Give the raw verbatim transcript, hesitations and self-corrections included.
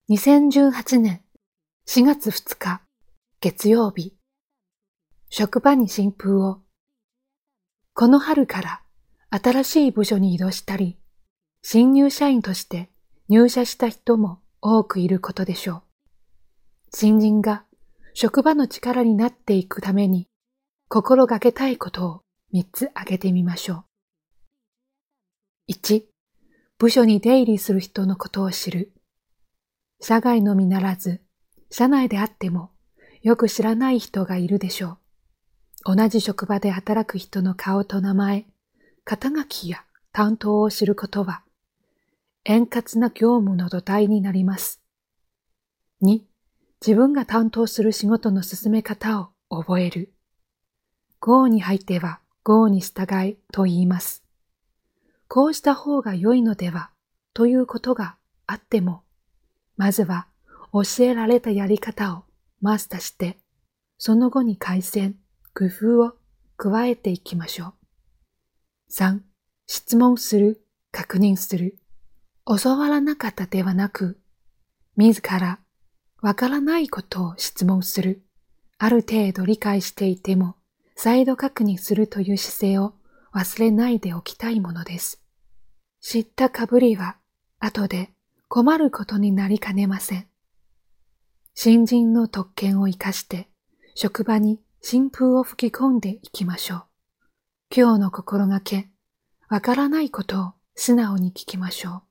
にせんじゅうはちねんしがつふつか月曜日、職場に新風を。この春から新しい部署に移動したり、新入社員として入社した人も多くいることでしょう。新人が職場の力になっていくために心がけたいことをみっつ挙げてみましょう。いち、部署に出入りする人のことを知る。社外のみならず、社内であってもよく知らない人がいるでしょう。同じ職場で働く人の顔と名前、肩書きや担当を知ることは、円滑な業務の土台になります。に、自分が担当する仕事の進め方を覚える。郷に入っては郷に従いと言います。こうした方が良いのではということがあっても、まずは教えられたやり方をマスターして、その後に改善、工夫を加えていきましょう。さん、質問する、確認する。教わらなかったではなく、自らわからないことを質問する。ある程度理解していても、再度確認するという姿勢を忘れないでおきたいものです。知ったかぶりは、後で困ることになりかねません。新人の特権を生かして、職場に新風を吹き込んでいきましょう。今日の心がけ、わからないことを素直に聞きましょう。